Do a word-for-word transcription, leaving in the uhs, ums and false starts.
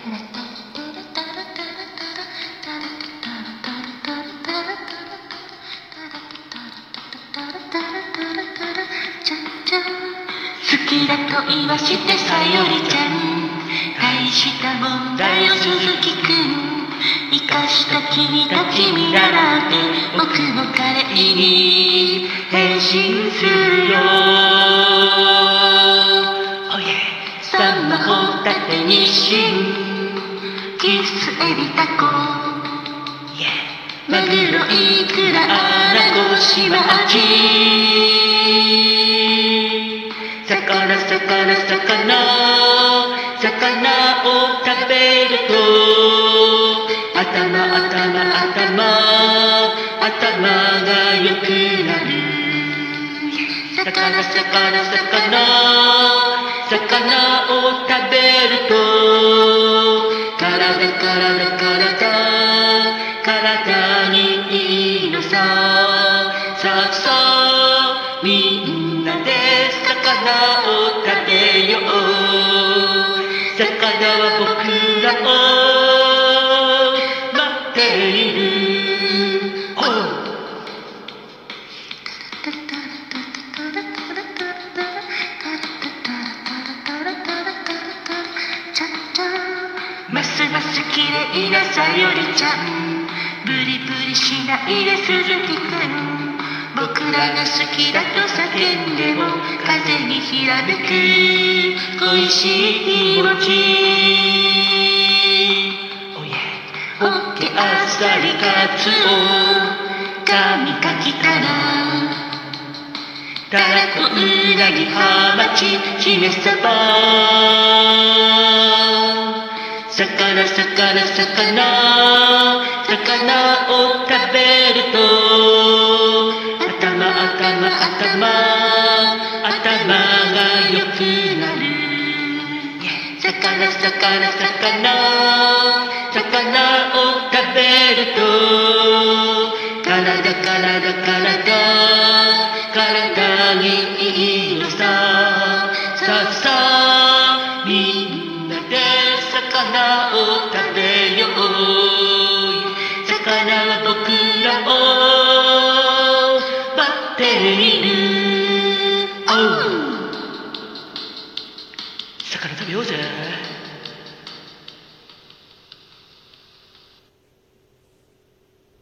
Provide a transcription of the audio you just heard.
好きだと言わしてさよりちゃん、大したもんだよ鈴木くん。生かした君が君ならって僕も彼に変身するよ。おいえさんまほたてにしんキスエビタコマグロイクラアナゴシマアジ魚魚魚魚を食べると頭頭頭頭が良くなる。魚魚魚魚を食べると体体体体にいいのさ。さあさあみんなで魚を食べよう。魚は僕らを待っている。おうますます綺麗なさよりちゃん、ブリブリしないで鈴木くん。僕らが好きだと叫んでも風にひらめく恋しい気持ち。おやホッケあっさりカツオカミカキタラタラコウナギハマチヒメサバ魚魚魚魚を食べると頭頭頭頭が良くなる。魚魚魚魚を食べると体体体体にいいのさ。さあさあみんなで魚を食べよう。魚は僕らを待っている。